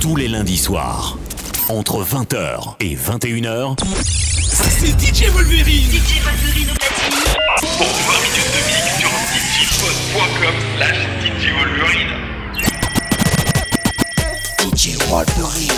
tous les lundis soirs. Entre 20h et 21h, c'est DJ Wolverine. DJ Wolverine au platine. Pour 20 minutes de mix sur djpod.com/DJ Wolverine. DJ Wolverine.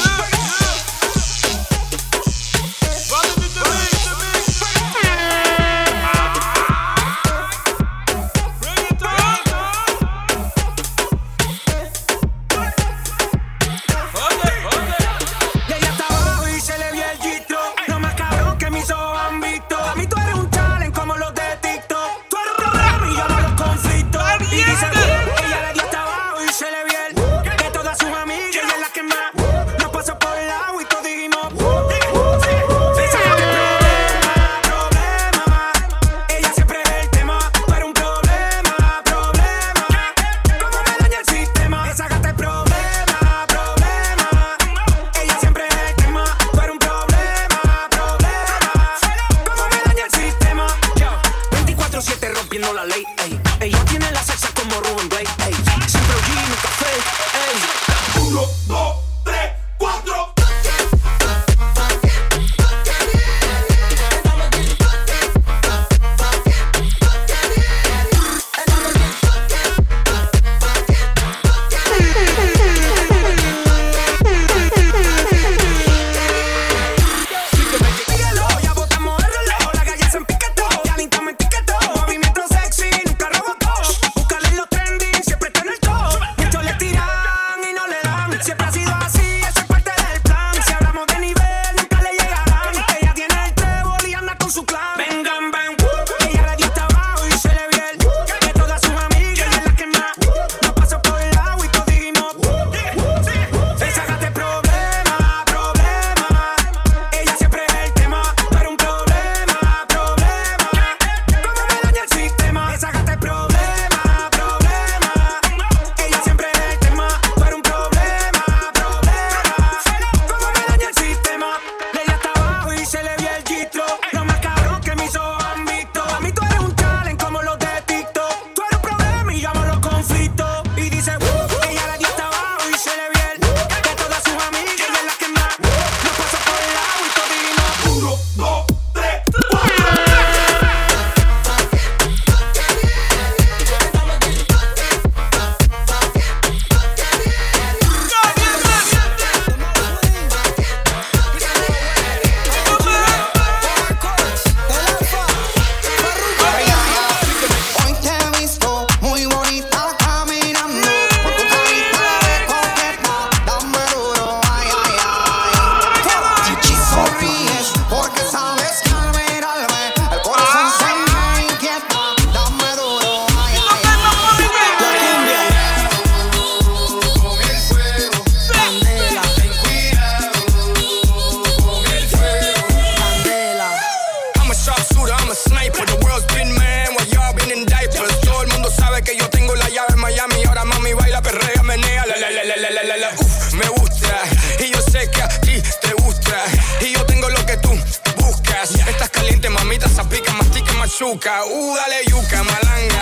Dale yuca, malanga.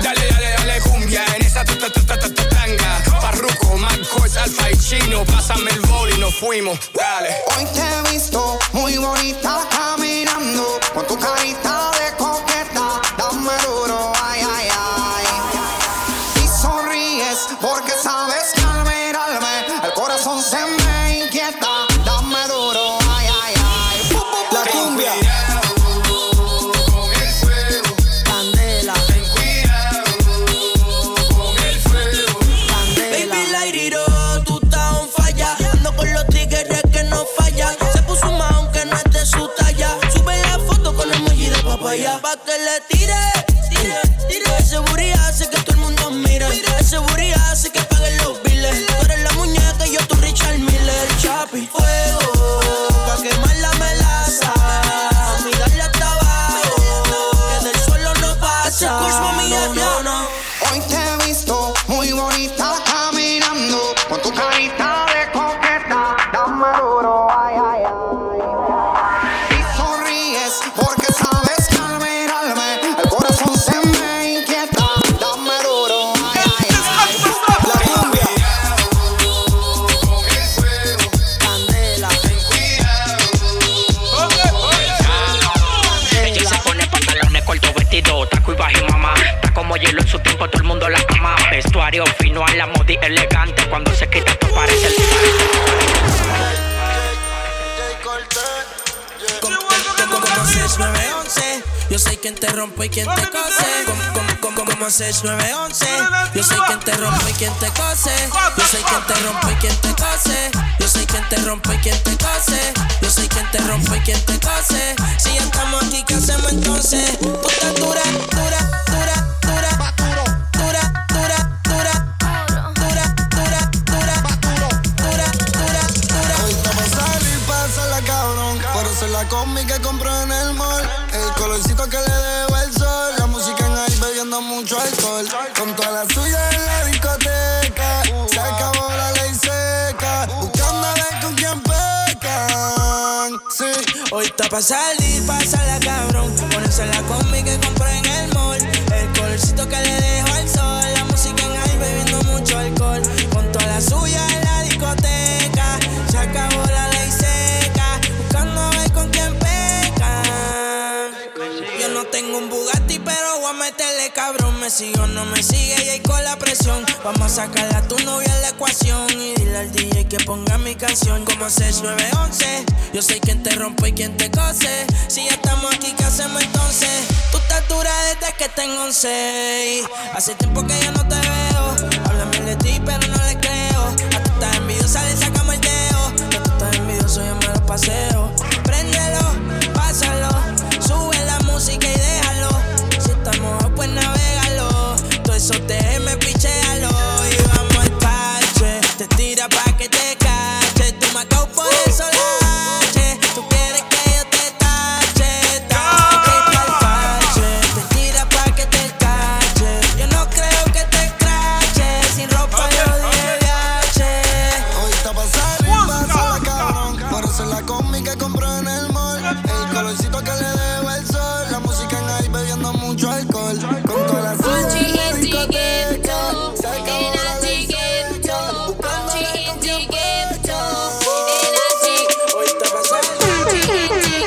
Dale cumbia en esa tanga. Farruko, Marcos, Alfa y Chino. Pásame el bol y nos fuimos. Dale. Hoy te he visto muy bonita caminando con tu carita de coqueta. Dame duro, ay, ay, ay. Y sonríes porque sabes que al mirarme el corazón se me inquieta. Dame duro, ay, ay, ay. La cumbia. Pa' que le tire. Ese booty hace que todo el mundo mire. Ese booty hace que paguen los biles. Tú eres la muñeca y yo tu Richard Fino a la moda y elegante. Cuando se quita esto parece el Como 6911, yo soy quien te rompe y quien te cose. Como 6911, yo soy quien te rompe y quien te cose. Yo soy quien te rompe y quien te cose. Yo soy quien te rompe y quien te cose. Yo soy quien te rompe y quien te cose. Si ya estamos aquí, ¿qué hacemos entonces? Tú estás dura, dura, dura, dura, dura, dura, dura, dura, dura, dura, dura, dura, dura, dura. Ahorita pa' salir, pásala cabrón. Por eso la combi que compré en el mall. El colorcito que le debo el sol. La música en ahí bebiendo mucho alcohol. Con toda la suya en la discoteca. Se acabó la ley seca. Buscando a ver con quién pecan. Sí. Hoy está pa' salir, pásala cabrón. Ponerse la combi que compré en el mall. El colorcito que le dejo al sol. La música en ahí bebiendo mucho alcohol. Con toda la suya en la discoteca. Se acabó la ley seca. Buscando a ver con quién pecan. Yo no tengo un Bugatti, pero voy a meterle cabrón. Me sigue o no me sigue y ahí con la presión. Vamos a sacarle a tu novia en la ecuación. Y dile al DJ que ponga mi canción. Como 6911, yo soy quien te rompe y quien te cose. Si ya estamos aquí, ¿qué hacemos entonces? Tú estás dura desde que tengo 11. Hace tiempo que yo no te veo. Háblame de ti, pero no le creo. A tú estás envidiosa, le sacamos el dedo. A tú estás envidioso, yo me lo paseo. Préndelo, pásalo. Sube la música y déjalo. Si estamos pues navégalo. Todo eso te me pichéalo. Y vamos al parche. Te tira pa' que te cache. Tú me acabo por el solache. Tú quieres que yo te tache. Tache pa'l parche. Te tira pa' que te cache. Yo no creo que te crache. Sin ropa yo de viaje. Hoy está pa' salir, pásala cabrón. Por eso la combi que compré en el mall. El colorcito que le debo el sol. La música en ahí bebiendo mucho alcohol. Con toda la suya en la discoteca. Se acabó la ley seca. Buscando a ver con quién pecan. Hoy está pa' salir.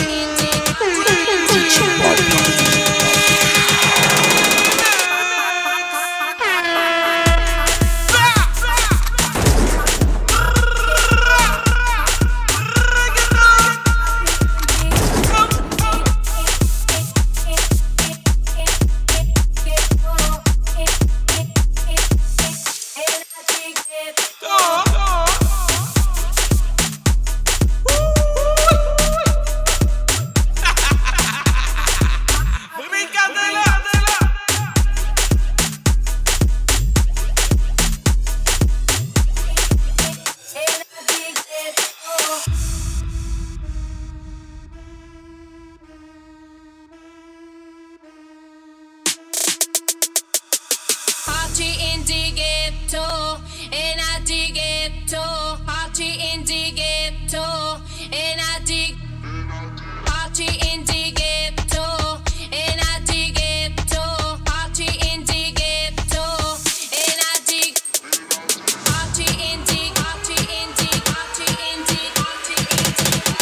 Party in the ghetto, and I dig it too. Party in the ghetto, and I dig. Party in the ghetto, and I dig it too. Party in the ghetto, and I dig. Party in the, party in the, party in the, party in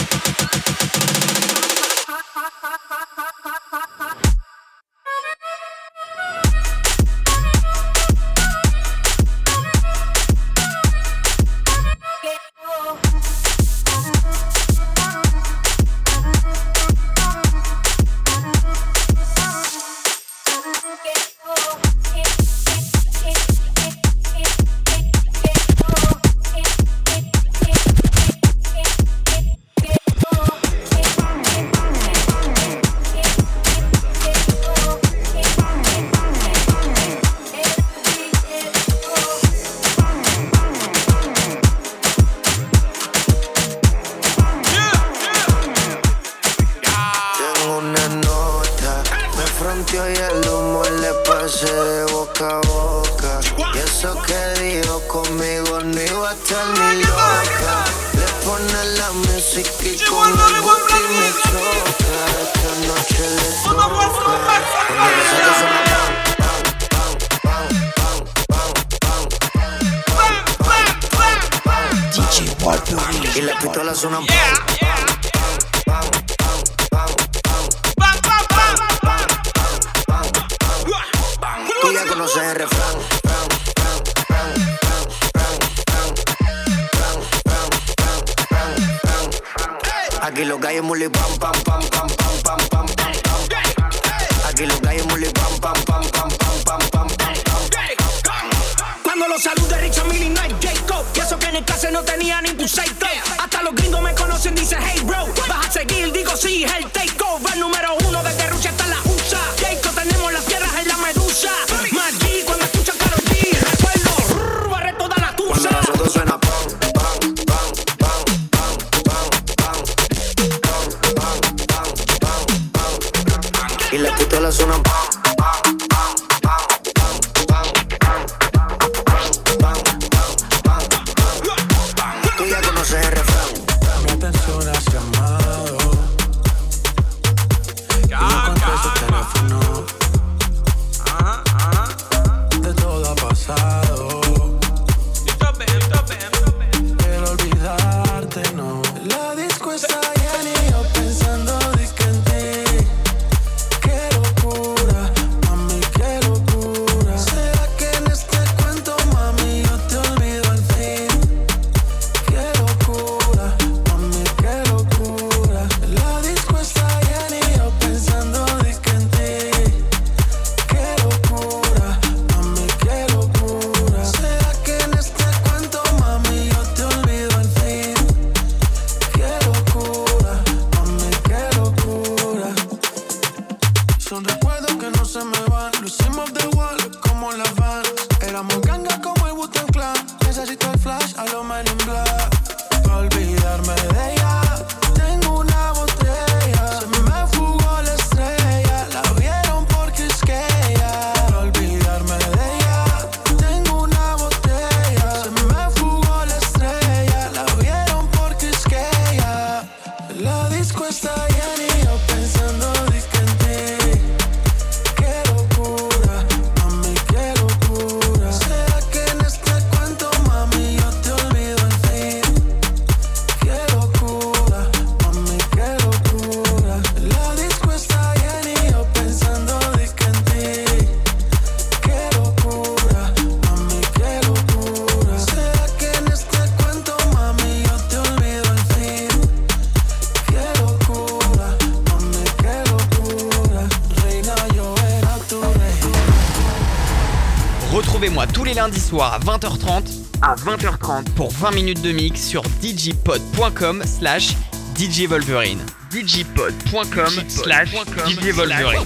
fronteó y el humo le pasé de boca a boca. Y eso que dijo conmigo no iba a estar ni loca. Le pone la música y con el booty me choca. Esta noche le toca. Cuando me saca suena DJ Walter y las pistolas suenan tú ya conoces el refrán. Aquí los gallos muli pam pam pam pam pam pam pam pam. Aquí los gallos muli pam pam pam pam pam pam pam. Cuando los salude Richard Mille no es Jacob. Y eso que en el clase no tenía ni tu seito. Hasta los gringos me conocen, dice hey bro. Vas a seguir, digo sí, es el takeover. Número 1 desde Rusia hasta la USA. Jacob, tenemos las tierras en la medusa. Maggi, cuando escuchan Karol G, recuerdo, barre toda la tusa. Cuando nosotros suena pam, pam, pam, pam, pam, pam, pam, pam, pam, pam, pam, pam. Y las pistolas suenan pam, pam, pam, pam, pam, pam, pam, pam, pam, pam. Tú ya conoces el refrán. Mi atención has llamado y no contesto el teléfono. De todo ha pasado. Pero olvidarte no. La disco está llena y yo pensando disque en ti. Qué locura, mami, qué locura. ¿Será que en este cuento, mami, yo te olvido al fin? Qué locura, mami, qué locura. La disco está llena y yo pensando disque en ti. Qué locura, mami, qué locura. ¿Será que en este cuento, mami, yo te olvido al fin? Qué locura, mami, qué locura. Son recuerdos que no se me van. Lo hicimos de igual como la van. Éramos ganga como el Wu-Tang Clan. Necesito el flash a lo Men in Black. Pa' olvidarme de ella, tengo una botella. Se me fugó la estrella, la vieron porque es que ella. Pa' olvidarme de ella, tengo una botella. Se me fugó la estrella, la vieron porque es que ella. La disco está llena y yo pensando disque en ti. Qué locura, mami, qué locura. ¿Será que en este cuento, mami, yo te olvido al fin? Qué locura, mami, qué locura. La disco está llena y yo pensando disque en ti. Qué locura, mami, qué locura. ¿Será que en este cuento, mami, yo te olvido al fin? Qué locura, mami, qué locura. Reina, yo era tu reina. Retrouvez-moi tous les lundis soirs à 20h30 pour 20 minutes de mix sur djpod.com/djvolverine. djpod.com/djvolverine.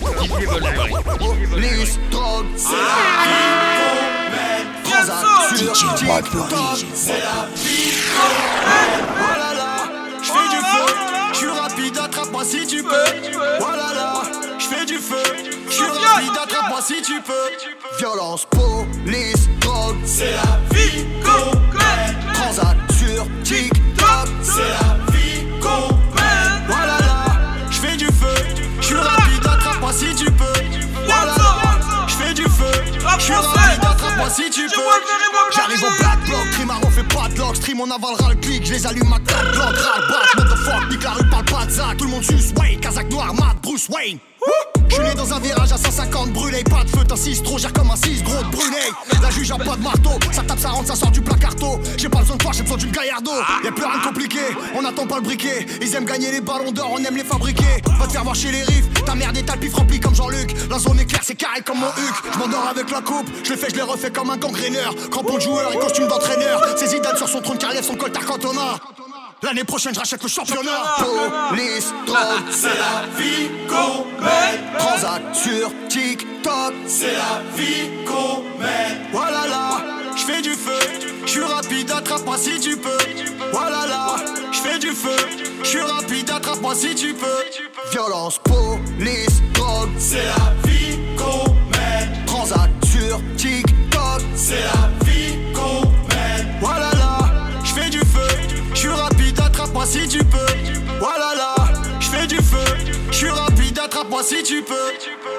Police, drogue, c'est la vie qu'on mène. Transaction, TikTok, c'est la vie qu'on mène. Voilà là, j'fais du feu, j'suis rapide, attrape-moi si tu peux. Voilà là, j'fais du feu, j'suis rapide, attrape-moi si tu peux. Violence, police, drogue, c'est la vie qu'on mène. Transaction, TikTok, c'est la vie qu'on mène. Voilà là, j'fais du feu, j'suis rapide, attrape-moi si tu peux. Voilà là, j'fais du feu, j'suis rapide, attrape-moi si tu peux. J'arrive au black block, Trimaro fait pas de lock. Stream, on avalera le clic, j'les allume ma 4 blocs. Ras-le-bat, motherfuck, nique la rue, parle pas de Zach. Tout le monde suce Wayne, Kazakh noir, Matt, Bruce Wayne. J'suis né dans un virage à 150 brûlé. Pas de feu, t'as 6 trop, gère comme un 6 gros de brûlé. La juge a pas de marteau, ça tape, ça rentre, ça sort du placarto. J'ai pas besoin de toi, j'ai besoin d'une gaillardo. Y'a plus rien de compliqué, on attend pas le briquet. Ils aiment gagner les ballons d'or, on aime les fabriquer. Va te faire voir chez les riffs, ta merde est pif rempli comme Jean-Luc. La zone est claire, c'est carré comme mon Huc. J'm'endors avec la coupe, j'le fais, j'les refais comme un gangréneur. Crampon de joueur et costume d'entraîneur. C'est Zidane sur son trône car lève son coltard Cantona. L'année prochaine, j'rachète le championnat. Police, drogue, c'est la vie qu'on mène. Transac sur TikTok, c'est la vie qu'on mène. Voilà là, j'fais du feu, j'suis rapide, attrape-moi si tu peux. Voilà là, j'fais du feu, j'suis rapide, attrape-moi si tu peux. Violence, police, drogue, c'est la vie qu'on mène. Transac sur TikTok, c'est la vie qu'on mène. Voilà là, j'fais du feu, j'suis rapide, attrape-moi si tu peux. Voilà là, j'fais du feu, j'suis rapide, attrape-moi si tu peux.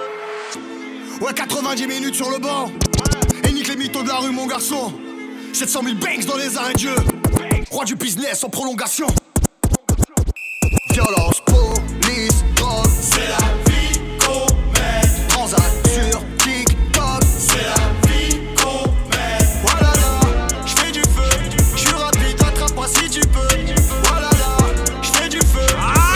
Ouais, 90 minutes sur le banc. Et nique les mythos de la rue, mon garçon. 700 000 banks dans les arrêts de jeu. Roi du business en prolongation. Violence, police, drogue, c'est la vie qu'on mène. Transac sur TikTok, c'est la vie qu'on mène. Voilà là, j'fais du feu, j'suis rapide, attrape-moi si tu peux. Voilà là, j'fais du feu,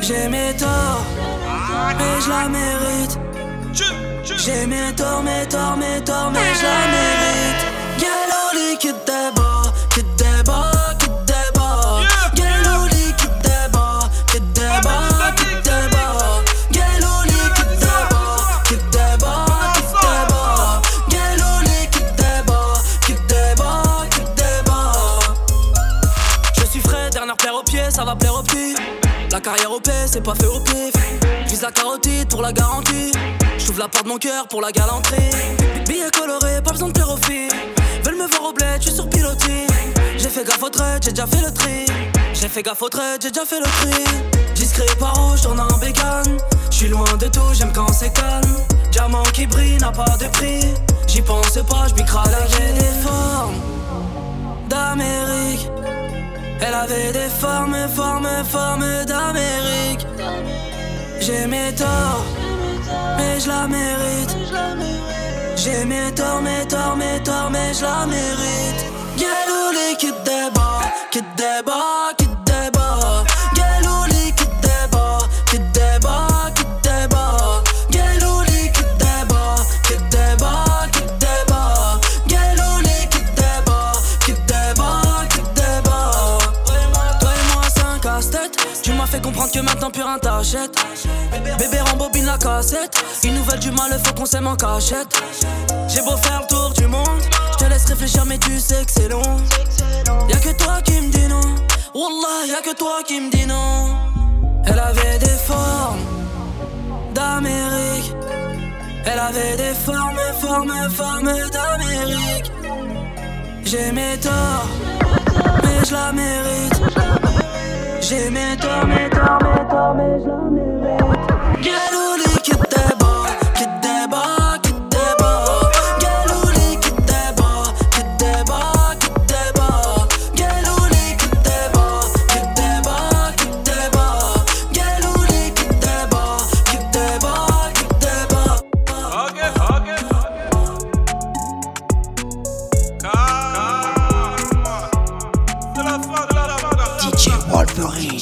J'ai mes torts, mais je la mérite. J'ai mes torts, mais je la mérite. Galoli qui débat, qui débat, qui débat. Galoli qui débat, qui débat, qui débat. Galoli qui débat, qui débat, qui débat. Galoli qui débat, qui débat, qui débat. Je suis frais, dernière paire aux pieds, ça va plaire aux petits. La carrière au P, c'est pas fait au pif. J'vise la carotide pour la garantie. J'ouvre la porte de mon cœur pour la galanterie. Billets colorés, pas besoin de plaire aux filles. Veulent me voir au bled, j'suis sur pilotis. J'ai fait gaffe au trait, j'ai déjà fait le tri. J'ai fait gaffe au trait, j'ai déjà fait le tri. Discret par rouge, tourne en bécane. J'suis loin de tout, j'aime quand c'est calme. Diamant qui brille n'a pas de prix. J'y pense pas, j'bicrale avec des formes d'Amérique. Elle avait des formes d'Amérique. J'ai mes torts, mais je la mérite. J'ai mes torts, mais je la mérite. Galouli qui débat, qui débat, qui débat. Galouli qui débat, qui débat, qui débat. Galouli qui débat, qui débat, qui débat. Galouli qui débat, qui débat, qui débat. Toi et moi, c'est un casse-tête. Tu m'as fait comprendre que maintenant plus rien t'achète. Bébé rembobine la cassette. Une nouvelle du mal, faut qu'on s'aime en cachette. J'ai beau faire le tour du monde, je te laisse réfléchir mais tu sais que c'est long. Y'a que toi qui me dis non. Wallah, y'a que toi qui me dis non. Elle avait des formes d'Amérique. Elle avait des formes d'Amérique. J'ai mes torts, mais je la mérite. J'ai mes torts, mais je la mérite. Galouli qui débat, qui débat, qui débat. Galouli qui débat, qui débat, qui débat. Galouli qui débat, qui débat, qui débat. Galouli qui débat, qui débat, qui débat. DJ Wolverine.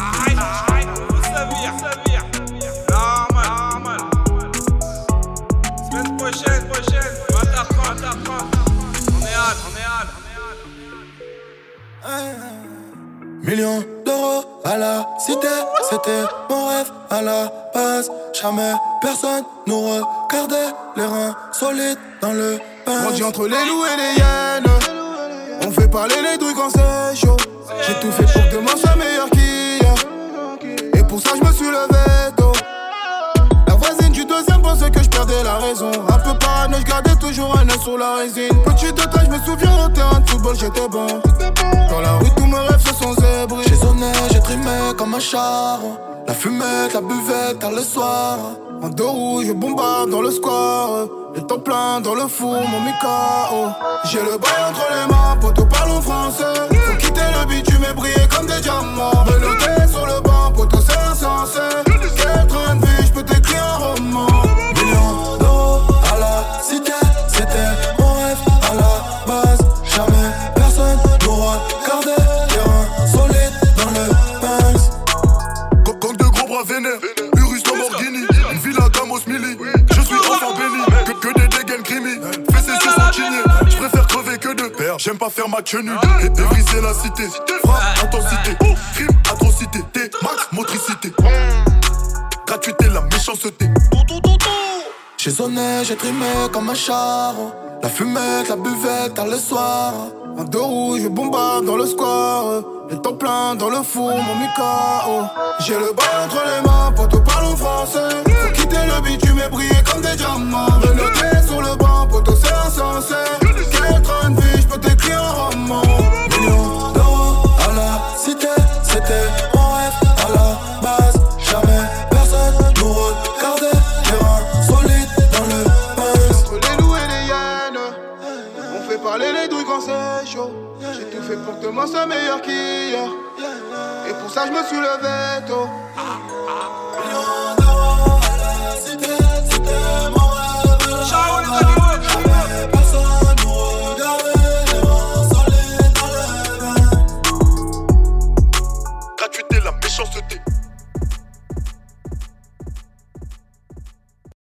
Millions d'euros à la cité, c'était mon rêve à la base. Jamais personne nous regardait, les reins solides dans le pain. Grandi entre les loups et les hyènes, on fait parler les douilles quand c'est chaud. J'ai tout fait pour que demain soit meilleur qu'hier, et pour ça je me suis levé tôt. La voisine du deuxième pensait que je perdais la raison. Un peu parano, je gardais toujours un œil sur la résine. Petit détail, je me souviens au terrain de football j'étais bon. Dans la rue tous mes rêves se sont zébrés. J'ai sonné, j'ai trimé comme un char. La fumette, la buvette, tard le soir. En deux roues, je bombarde dans le square. Le temps plein dans le four, mon Mikao. J'ai le bail entre les mains, poteau parlons français. Faut quitter le bitume et briller comme des diamants. Menotté sur le banc, poteau c'est insensé. Quel train de vie, j'peux t'écrire un roman. Millions d'euros à la cité, c'était mon rêve à la base. Jamais personne nous regardait, les reins solides dans le Benz. Gang de gros bras vénères, Urus Lamborghini, une villa Gamos Mili. Je suis enfant béni, que des dégaines crimi. Fessé sur son chigné, j'préfère crever que de perdre. J'aime pas faire ma quenue et briser la cité. Frappe, intensité, crime, atrocité. T, max, motricité. Gratuité, la méchanceté. J'ai sonné, j'ai trimé comme un char. La fumette, la buvette, tard le soir. En deux roues, je bombarde dans le square. Le temps plein dans le four, mon Mikao. J'ai le bail entre les mains, poteau parlons français. Faut quitter le bitume et briller comme des diamants. Menotté sur le banc, poteau c'est insensé. Quel train de vie, j'peux t'écrire un roman. Millions d'euros à la cité, c'était mon rêve à la base. Jamais personne nous regardait, les reins solides dans le Benz. Entre les loups et les hyènes, on fait parler les douilles quand c'est chaud. J'ai tout fait pour que demain soit meilleur qu'hier, et pour ça je me suis levé tôt.